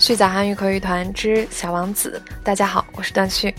续讲韩语口语团之小王子。大家好，我是段旭。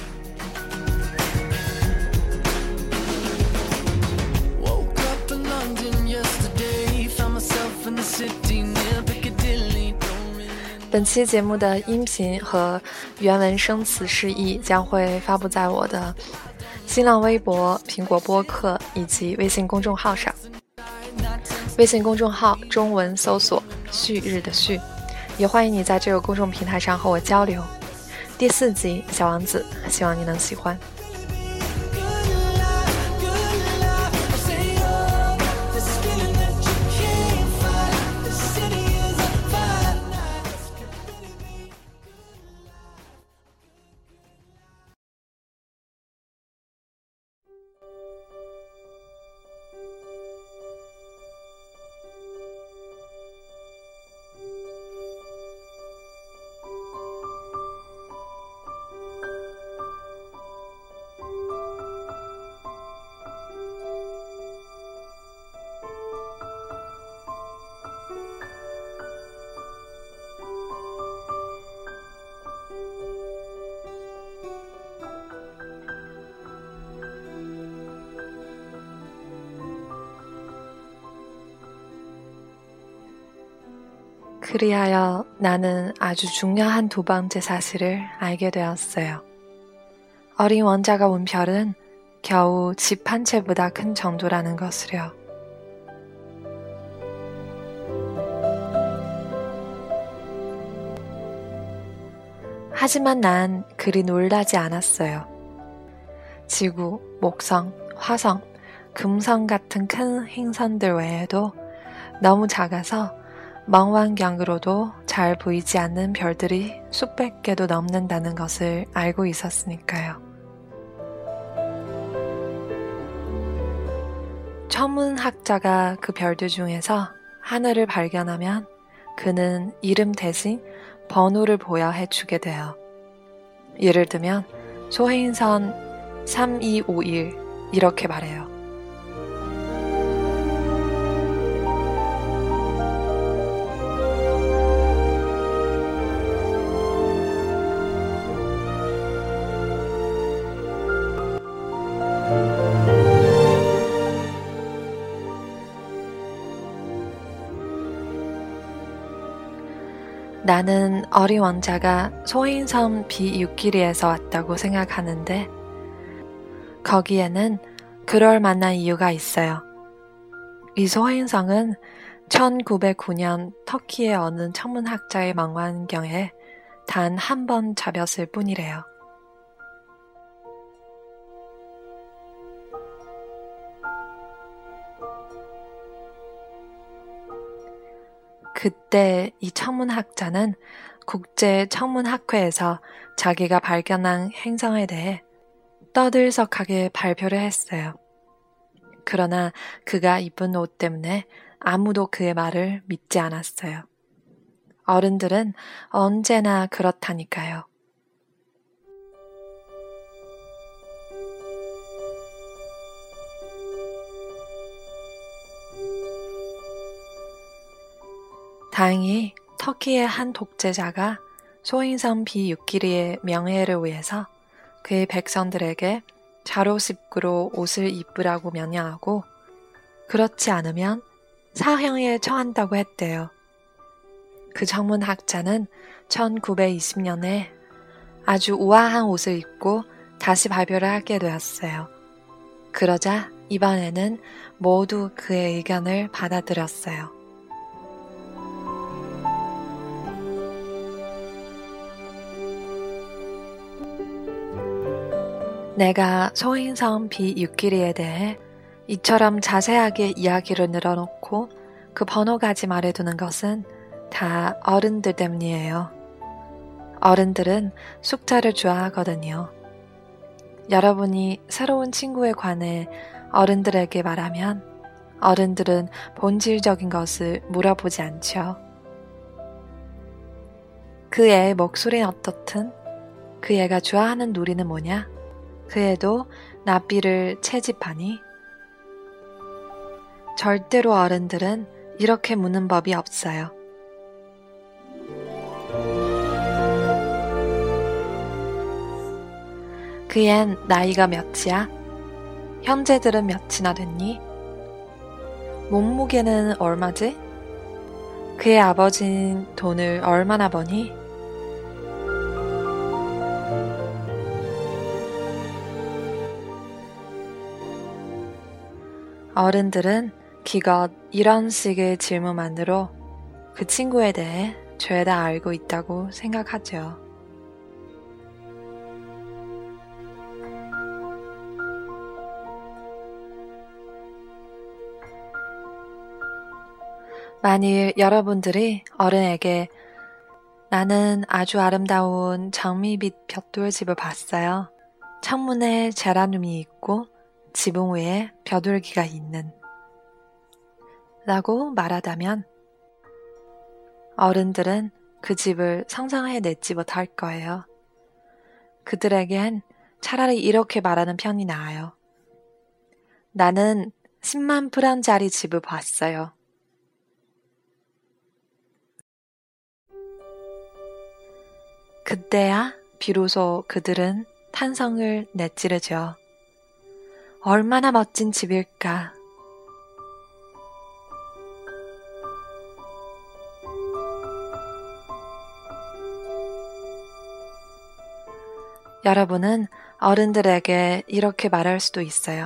本期节目的音频和原文生词释义将会发布在我的新浪微博、苹果播客以及微信公众号上。微信公众号中文搜索旭日的旭，也欢迎你在这个公众平台上和我交流。第4集小王子，希望你能喜欢。그리하여 나는 아주 중요한 두 번째 사실을 알게 되었어요. 어린 원자가 온 별은 겨우 집 한 채보다 큰 정도라는 것을요. 하지만 난 그리 놀라지 않았어요. 지구, 목성, 화성, 금성 같은 큰 행성들 외에도 너무 작아서 망원경으로도 잘 보이지 않는 별들이 수백 개도 넘는다는 것을 알고 있었으니까요. 천문학자가 그 별들 중에서 하나를 발견하면 그는 이름 대신 번호를 부여해 주게 돼요. 예를 들면 소행성 3251 이렇게 말해요. 나는 어린 왕자가 소행성 B6길이에서 왔다고 생각하는데 거기에는 그럴 만한 이유가 있어요. 이 소행성은 1909년 터키의 어느 천문학자의 망원경에 단 한 번 잡혔을 뿐이래요. 그때 이 천문학자는 국제천문학회에서 자기가 발견한 행성에 대해 떠들썩하게 발표를 했어요. 그러나 그가 입은 옷 때문에 아무도 그의 말을 믿지 않았어요. 어른들은 언제나 그렇다니까요. 다행히 터키의 한 독재자가 소행성 B6길이의 명예를 위해서 그의 백성들에게 자로십구로 옷을 입으라고 명령하고 그렇지 않으면 사형에 처한다고 했대요. 그 천문학자는 1920년에 아주 우아한 옷을 입고 다시 발표를 하게 되었어요. 그러자 이번에는 모두 그의 의견을 받아들였어요. 내가 소행성 B6길이에 대해 이처럼 자세하게 이야기를 늘어놓고 그 번호까지 말해두는 것은 다 어른들 때문이에요. 어른들은 숫자를 좋아하거든요. 여러분이 새로운 친구에 관해 어른들에게 말하면 어른들은 본질적인 것을 물어보지 않죠. 그 애의 목소리는 어떻든, 그 애가 좋아하는 놀이는 뭐냐? 그 애도 나비를 채집하니? 절대로 어른들은 이렇게 묻는 법이 없어요. 그 앤 나이가 몇이야? 형제들은 몇이나 됐니? 몸무게는 얼마지? 그의 아버진 돈을 얼마나 버니? 어른들은 기껏 이런 식의 질문만으로 그 친구에 대해 죄다 알고 있다고 생각하죠. 만일 여러분들이 어른에게 나는 아주 아름다운 장미빛 벽돌집을 봤어요. 창문에 제라늄이 있고 지붕 위에 벼들기가 있는 라고 말하다면 어른들은 그 집을 상상해내지 못할 거예요. 그들에겐 차라리 이렇게 말하는 편이 나아요. 나는 10만 프랑짜리 집을 봤어요. 그때야 비로소 그들은 탄성을 내찌르죠. 얼마나 멋진 집일까. 여러분은 어른들에게 이렇게 말할 수도 있어요.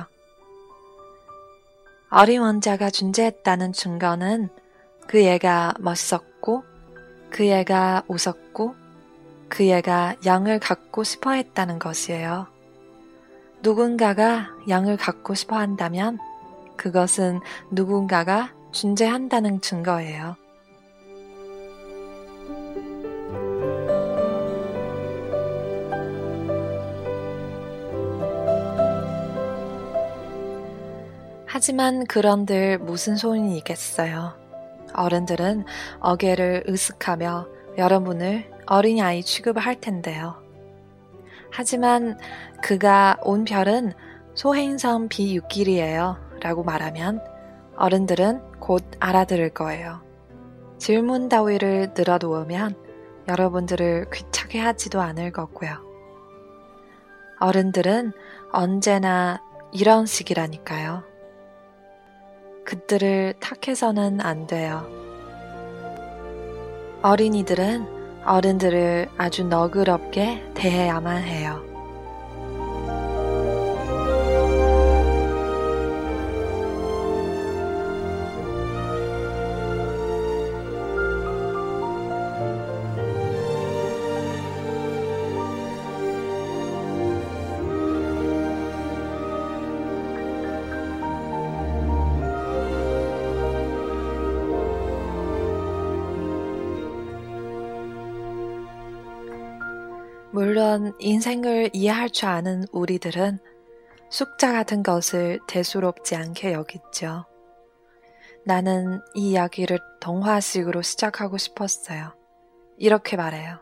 어린 왕자가 존재했다는 증거는 그 애가 멋있었고, 그 애가 웃었고, 그 애가 양을 갖고 싶어 했다는 것이에요. 누군가가 양을 갖고 싶어 한다면 그것은 누군가가 존재한다는 증거예요. 하지만 그런들 무슨 소용이 있겠어요. 어른들은 어깨를 으쓱하며 여러분을 어린아이 취급을 할 텐데요. 하지만 그가 온 별은 소행성 비육길이에요 라고 말하면 어른들은 곧 알아들을 거예요. 질문 따위를 늘어놓으면 여러분들을 귀찮게 하지도 않을 거고요. 어른들은 언제나 이런 식이라니까요. 그들을 탓해서는 안 돼요. 어린이들은 어른들을 아주 너그럽게 대해야만 해요. 물론 인생을 이해할 줄 아는 우리들은 숫자 같은 것을 대수롭지 않게 여기죠. 나는 이 이야기를 동화식으로 시작하고 싶었어요. 이렇게 말해요.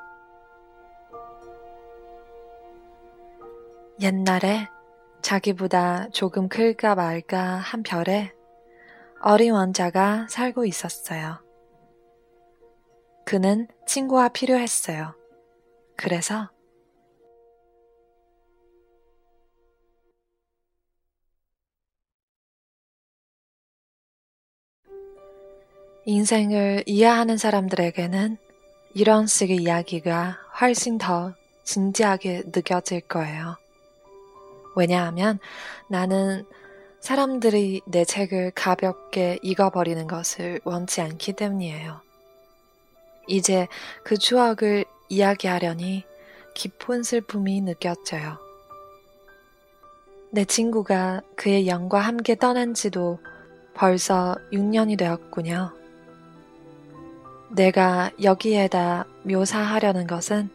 옛날에 자기보다 조금 클까 말까 한 별에 어린 왕자가 살고 있었어요. 그는 친구가 필요했어요. 그래서 인생을 이해하는 사람들에게는 이런 식의 이야기가 훨씬 더 진지하게 느껴질 거예요. 왜냐하면 나는 사람들이 내 책을 가볍게 읽어버리는 것을 원치 않기 때문이에요. 이제 그 추억을 이야기하려니 깊은 슬픔이 느껴져요. 내 친구가 그의 영과 함께 떠난 지도 벌써 6년이 되었군요. 내가 여기에다 묘사하려는 것은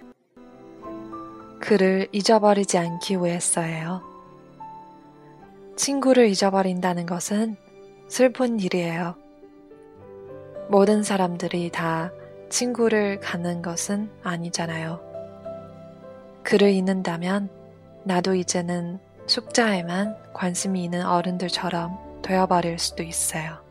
그를 잊어버리지 않기 위해서예요. 친구를 잊어버린다는 것은 슬픈 일이에요. 모든 사람들이 다 친구를 갖는 것은 아니잖아요. 그를 잊는다면 나도 이제는 숫자에만 관심이 있는 어른들처럼 되어버릴 수도 있어요.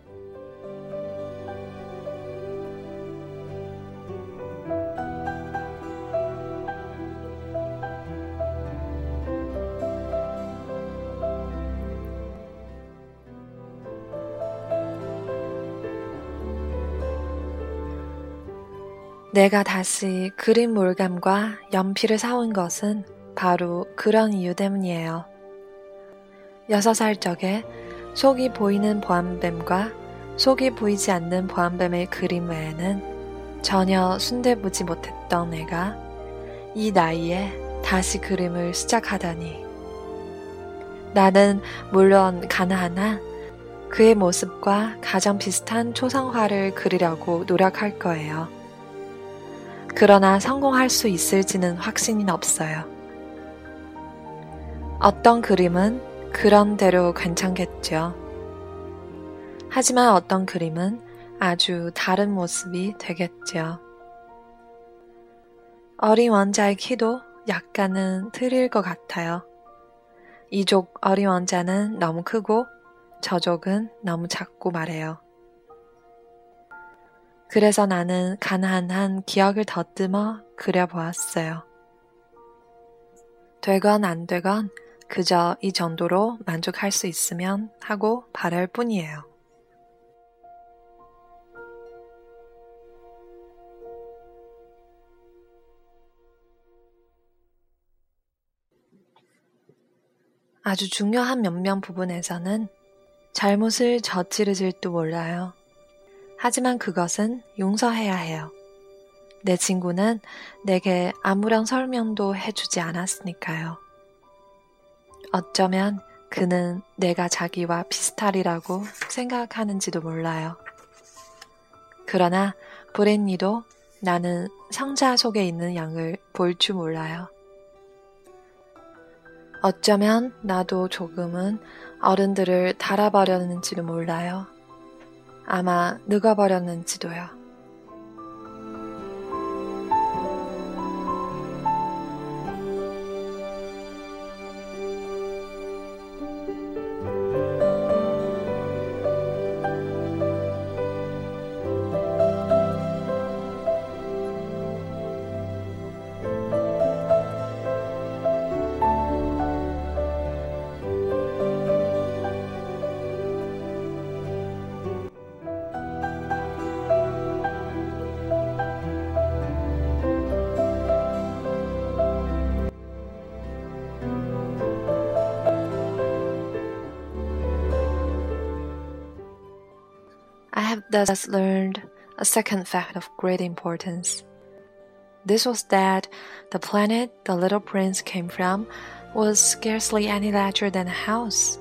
내가 다시 그림 물감과 연필을 사온 것은 바로 그런 이유 때문이에요. 6살 적에 속이 보이는 보안뱀과 속이 보이지 않는 보안뱀의 그림 외에는 전혀 순대보지 못했던 내가 이 나이에 다시 그림을 시작하다니. 나는 물론 가나하나 그의 모습과 가장 비슷한 초상화를 그리려고 노력할 거예요. 그러나 성공할 수 있을지는 확신이 없어요. 어떤 그림은 그런 대로 괜찮겠죠. 하지만 어떤 그림은 아주 다른 모습이 되겠죠. 어린 원자의 키도 약간은 틀릴 것 같아요. 이족 어린 원자는 너무 크고 저족은 너무 작고 말해요. 그래서 나는 가난한 기억을 더듬어 그려보았어요. 되건 안 되건 그저 이 정도로 만족할 수 있으면 하고 바랄 뿐이에요. 아주 중요한 몇몇 부분에서는 잘못을 저지르질도 몰라요. 하지만 그것은 용서해야 해요. 내 친구는 내게 아무런 설명도 해주지 않았으니까요. 어쩌면 그는 내가 자기와 비슷하리라고 생각하는지도 몰라요. 그러나 브랜니도 나는 상자 속에 있는 양을 볼 줄 몰라요. 어쩌면 나도 조금은 어른들을 달아버렸는지도 몰라요. 아마 늙어버렸는지도요. I have thus learned a second fact of great importance. This was that the planet the little prince came from was scarcely any larger than a house.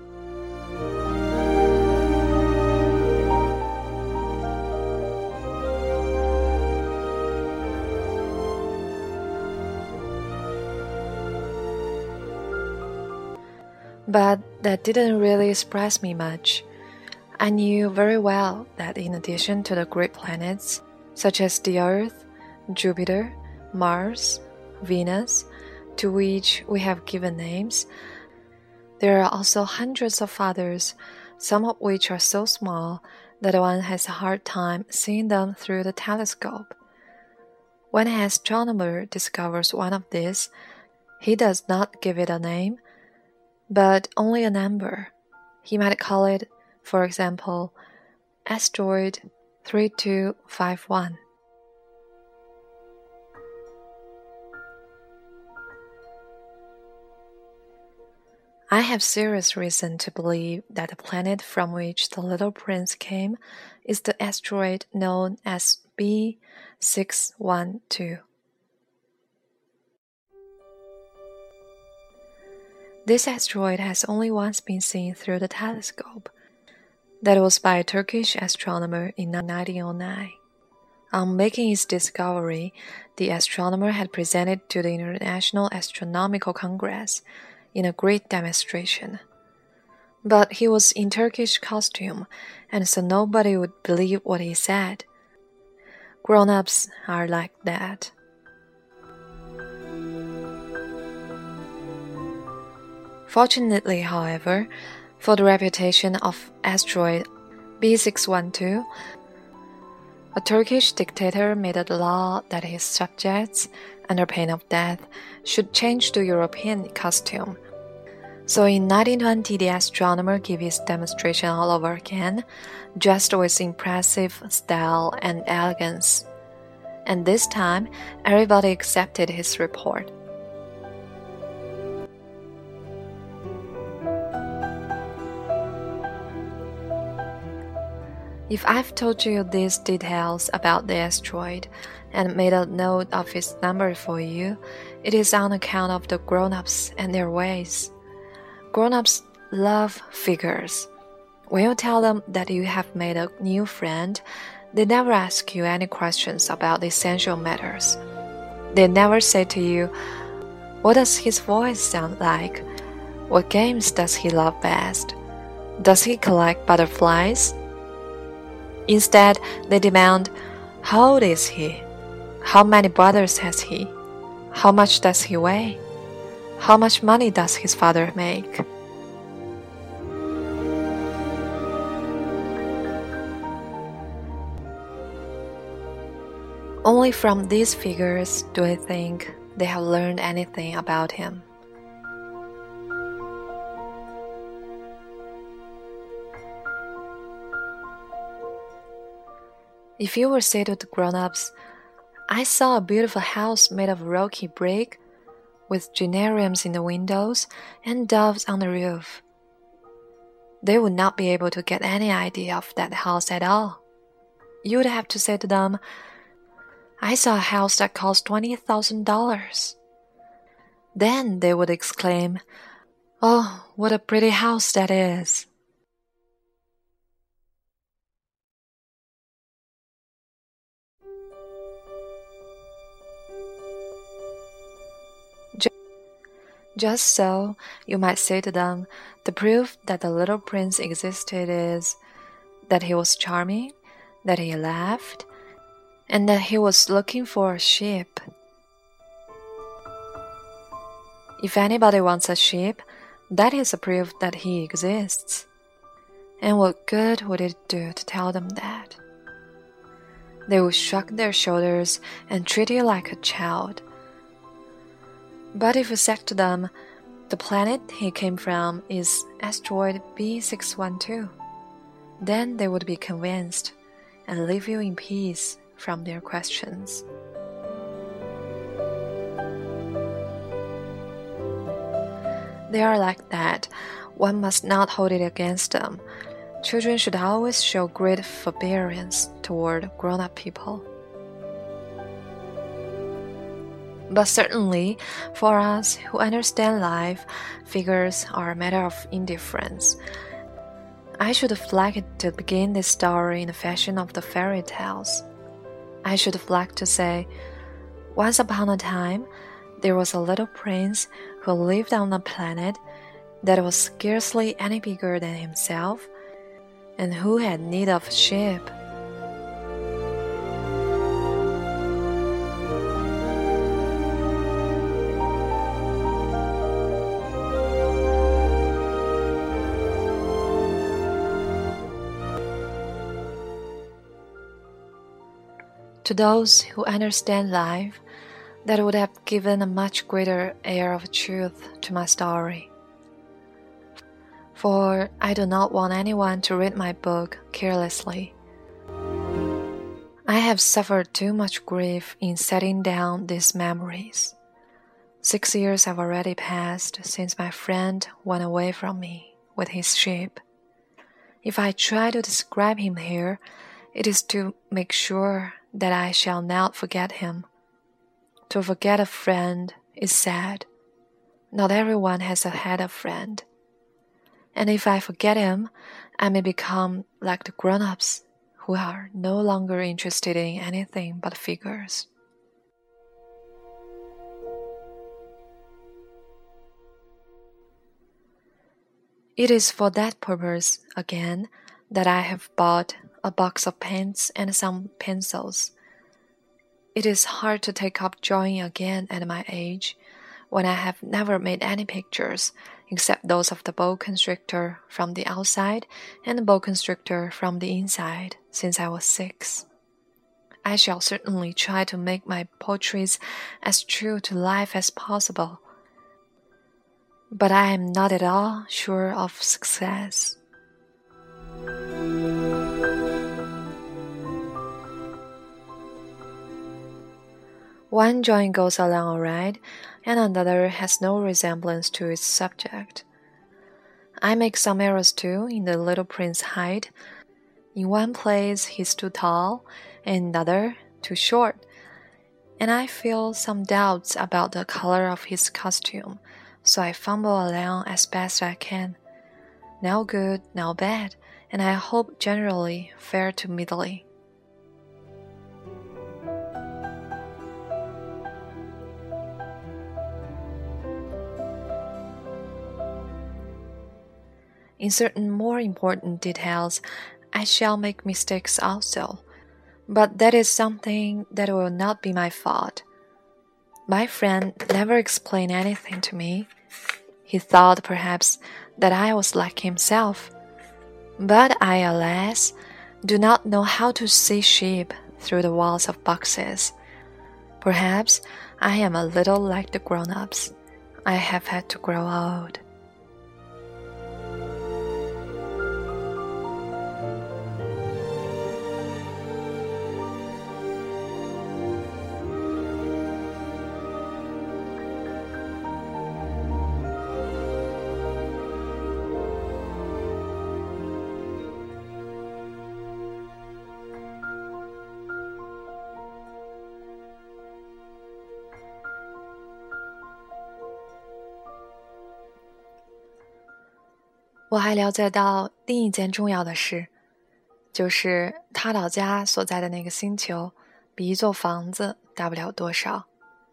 But that didn't really surprise me much. I knew very well that in addition to the great planets, such as the Earth, Jupiter, Mars, Venus, to which we have given names, there are also hundreds of others, some of which are so small that one has a hard time seeing them through the telescope. When an astronomer discovers one of these, he does not give it a name, but only a number. He might call it, for example, asteroid 3251. I have serious reason to believe that the planet from which the little prince came is the asteroid known as B612. This asteroid has only once been seen through the telescope. That was by a Turkish astronomer in 1909. On making his discovery, the astronomer had presented to the International Astronomical Congress in a great demonstration. But he was in Turkish costume, and so nobody would believe what he said. Grown-ups are like that. Fortunately, however, for the reputation of asteroid B612, a Turkish dictator made a law that his subjects, under pain of death, should change to European costume. So in 1920, the astronomer gave his demonstration all over again, dressed with impressive style and elegance. and this time everybody accepted his report. If I've told you these details about the asteroid and made a note of its number for you, it is on account of the grown-ups and their ways. Grown-ups love figures. When you tell them that you have made a new friend, they never ask you any questions about the essential matters. They never say to you, "What does his voice sound like? What games does he love best? Does he collect butterflies?" Instead, they demand, "How old is he? How many brothers has he? How much does he weigh? How much money does his father make?" Only from these figures do I think they have learned anything about him. If you were say to the grown-ups, "I saw a beautiful house made of rocky brick, with geraniums in the windows and doves on the roof," they would not be able to get any idea of that house at all. You would have to say to them, "I saw a house that cost $20,000. Then they would exclaim, "Oh, what a pretty house that is." Just so, you might say to them, the proof that the little prince existed is that he was charming, that he laughed, and that he was looking for a sheep. If anybody wants a sheep, that is a proof that he exists. And what good would it do to tell them that? They would shrug their shoulders and treat you like a child. But if you said to them, "The planet he came from is asteroid B612, then they would be convinced and leave you in peace from their questions. They are like that. One must not hold it against them. Children should always show great forbearance toward grown-up people. But certainly, for us who understand life, figures are a matter of indifference. I should have liked to begin this story in the fashion of the fairy tales. I should have liked to say, once upon a time, there was a little prince who lived on a planet that was scarcely any bigger than himself, and who had need of a ship. To those who understand life, that would have given a much greater air of truth to my story. For I do not want anyone to read my book carelessly. I have suffered too much grief in setting down these memories. 6 years have already passed since my friend went away from me with his sheep. If I try to describe him here, it is to make sure that I shall not forget him. To forget a friend is sad. Not everyone has had a friend. And if I forget him, I may become like the grown-ups who are no longer interested in anything but figures. It is for that purpose, again, that I have bought a box of paints and some pencils. It is hard to take up drawing again at my age, when I have never made any pictures except those of the boa constrictor from the outside and the boa constrictor from the inside since I was 6. I shall certainly try to make my portraits as true to life as possible, but I am not at all sure of success. One drawing goes along all right, and another has no resemblance to its subject. I make some errors too in the Little Prince height. In one place he's too tall, and another too short, and I feel some doubts about the color of his costume, so I fumble along as best I can. Now good, now bad, and I hope generally fair to middling. In certain more important details, I shall make mistakes also, but that is something that will not be my fault. My friend never explained anything to me. He thought perhaps that I was like himself, but I, alas, do not know how to see sheep through the walls of boxes. Perhaps I am a little like the grown-ups. I have had to grow old.我还了解到另一件重要的事，就是他老家所在的那个星球比一座房子大不了多少。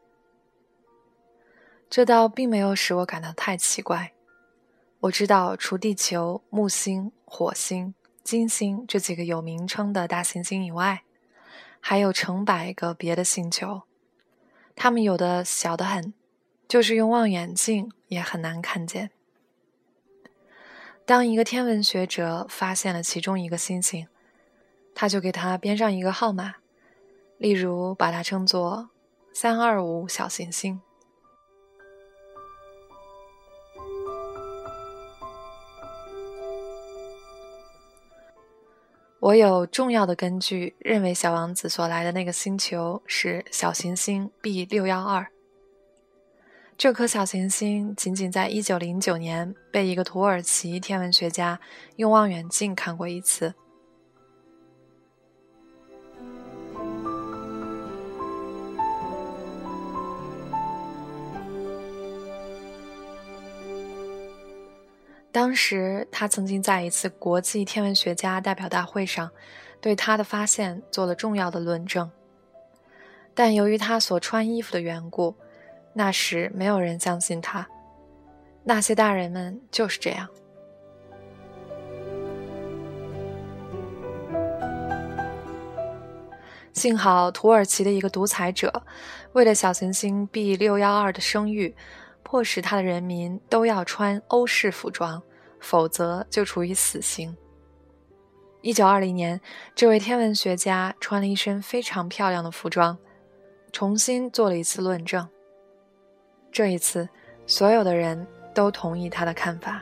这倒并没有使我感到太奇怪。我知道除地球、木星、火星、金星这几个有名称的大行星以外，还有成百个别的星球，它们有的小得很，就是用望远镜也很难看见。当一个天文学者发现了其中一个星星，他就给它编上一个号码，例如把它称作325小行星。我有重要的根据认为小王子所来的那个星球是小行星 B612。这颗小行星仅仅在1909年被一个土耳其天文学家用望远镜看过一次。当时他曾经在一次国际天文学家代表大会上对他的发现做了重要的论证，但由于他所穿衣服的缘故，那时没有人相信他。那些大人们就是这样。幸好土耳其的一个独裁者为了小行星 B612 的声誉，迫使他的人民都要穿欧式服装，否则就处以死刑。1920年，这位天文学家穿了一身非常漂亮的服装，重新做了一次论证。这一次，所有的人都同意他的看法。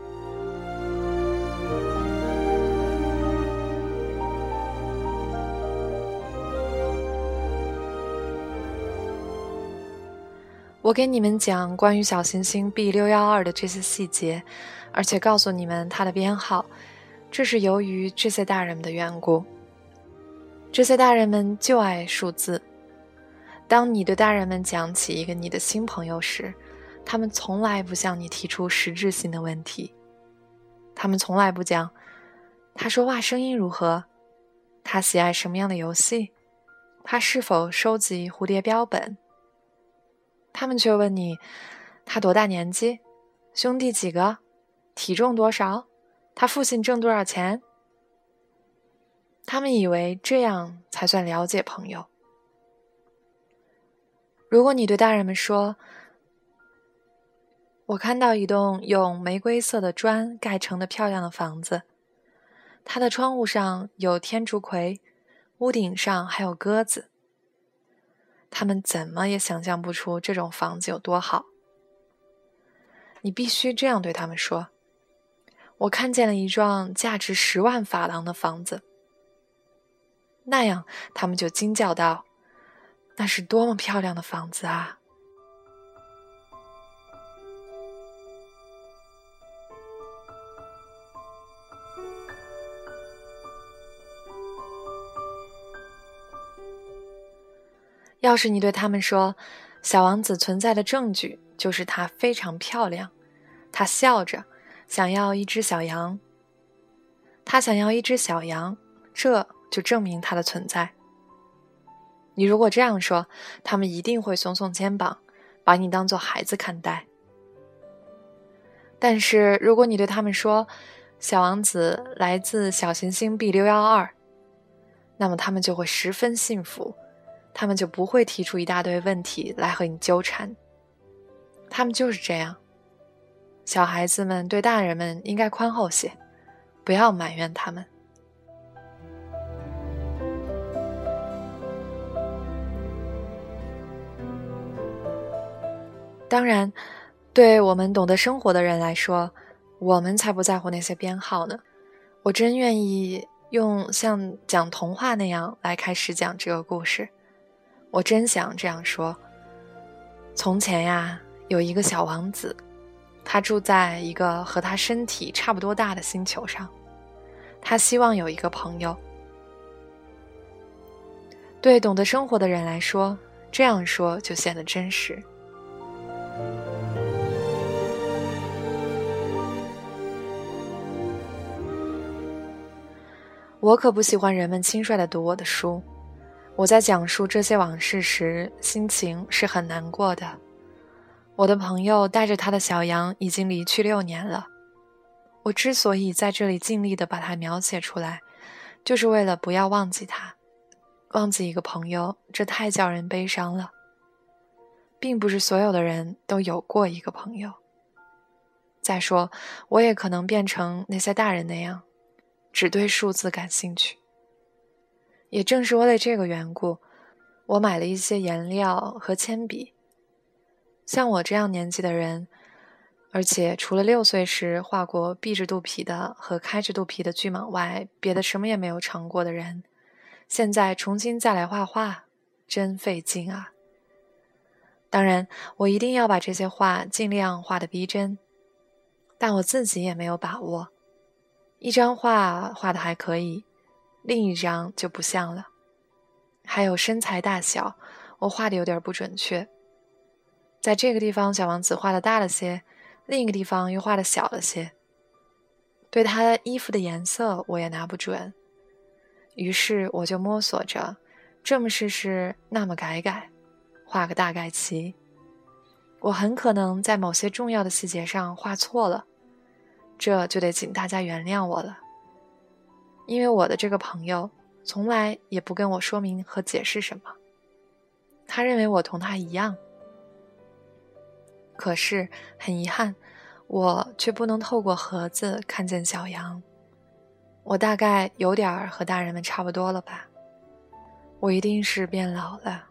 我给你们讲关于小行星 B612 的这些细节，而且告诉你们它的编号，这是由于这些大人们的缘故。这些大人们就爱数字。当你对大人们讲起一个你的新朋友时，他们从来不向你提出实质性的问题。他们从来不讲他说话声音如何，他喜爱什么样的游戏，他是否收集蝴蝶标本。他们却问你他多大年纪，兄弟几个，体重多少，他父亲挣多少钱。他们以为这样才算了解朋友。如果你对大人们说，我看到一栋用玫瑰色的砖盖成的漂亮的房子，它的窗户上有天竺葵，屋顶上还有鸽子，他们怎么也想象不出这种房子有多好。你必须这样对他们说，我看见了一幢价值10万法郎的房子。那样他们就惊叫道， 那是多么漂亮的房子啊！要是你对他们说，小王子存在的证据就是它非常漂亮，他笑着想要一只小羊，他想要一只小羊，这就证明它的存在。你如果这样说，他们一定会耸耸肩膀，把你当作孩子看待。但是如果你对他们说，小王子来自小行星 B612，那么他们就会十分幸福，他们就不会提出一大堆问题来和你纠缠。他们就是这样。小孩子们对大人们应该宽厚些，不要埋怨他们。当然，对我们懂得生活的人来说，我们才不在乎那些编号呢。我真愿意用像讲童话那样来开始讲这个故事。我真想这样说。从前呀，有一个小王子，他住在一个和他身体差不多大的星球上。他希望有一个朋友。对懂得生活的人来说，这样说就显得真实。我可不喜欢人们轻率地读我的书。我在讲述这些往事时，心情是很难过的。我的朋友带着他的小羊已经离去6年了。我之所以在这里尽力地把它描写出来，就是为了不要忘记他。忘记一个朋友，这太叫人悲伤了。并不是所有的人都有过一个朋友。再说，我也可能变成那些大人那样，只对数字感兴趣。也正是为了这个缘故，我买了一些颜料和铅笔。像我这样年纪的人，而且除了6岁时画过闭着肚皮的和开着肚皮的巨蟒外，别的什么也没有尝过的人，现在重新再来画画，真费劲啊。当然，我一定要把这些画尽量画得逼真，但我自己也没有把握。一张画画得还可以，另一张就不像了。还有身材大小，我画得有点不准确。在这个地方小王子画得大了些，另一个地方又画得小了些。对他衣服的颜色我也拿不准。于是我就摸索着，这么试试，那么改改，画个大概齐。我很可能在某些重要的细节上画错了，这就得请大家原谅我了。因为我的这个朋友从来也不跟我说明和解释什么，他认为我同他一样。可是很遗憾，我却不能透过盒子看见小羊。我大概有点和大人们差不多了吧。我一定是变老了，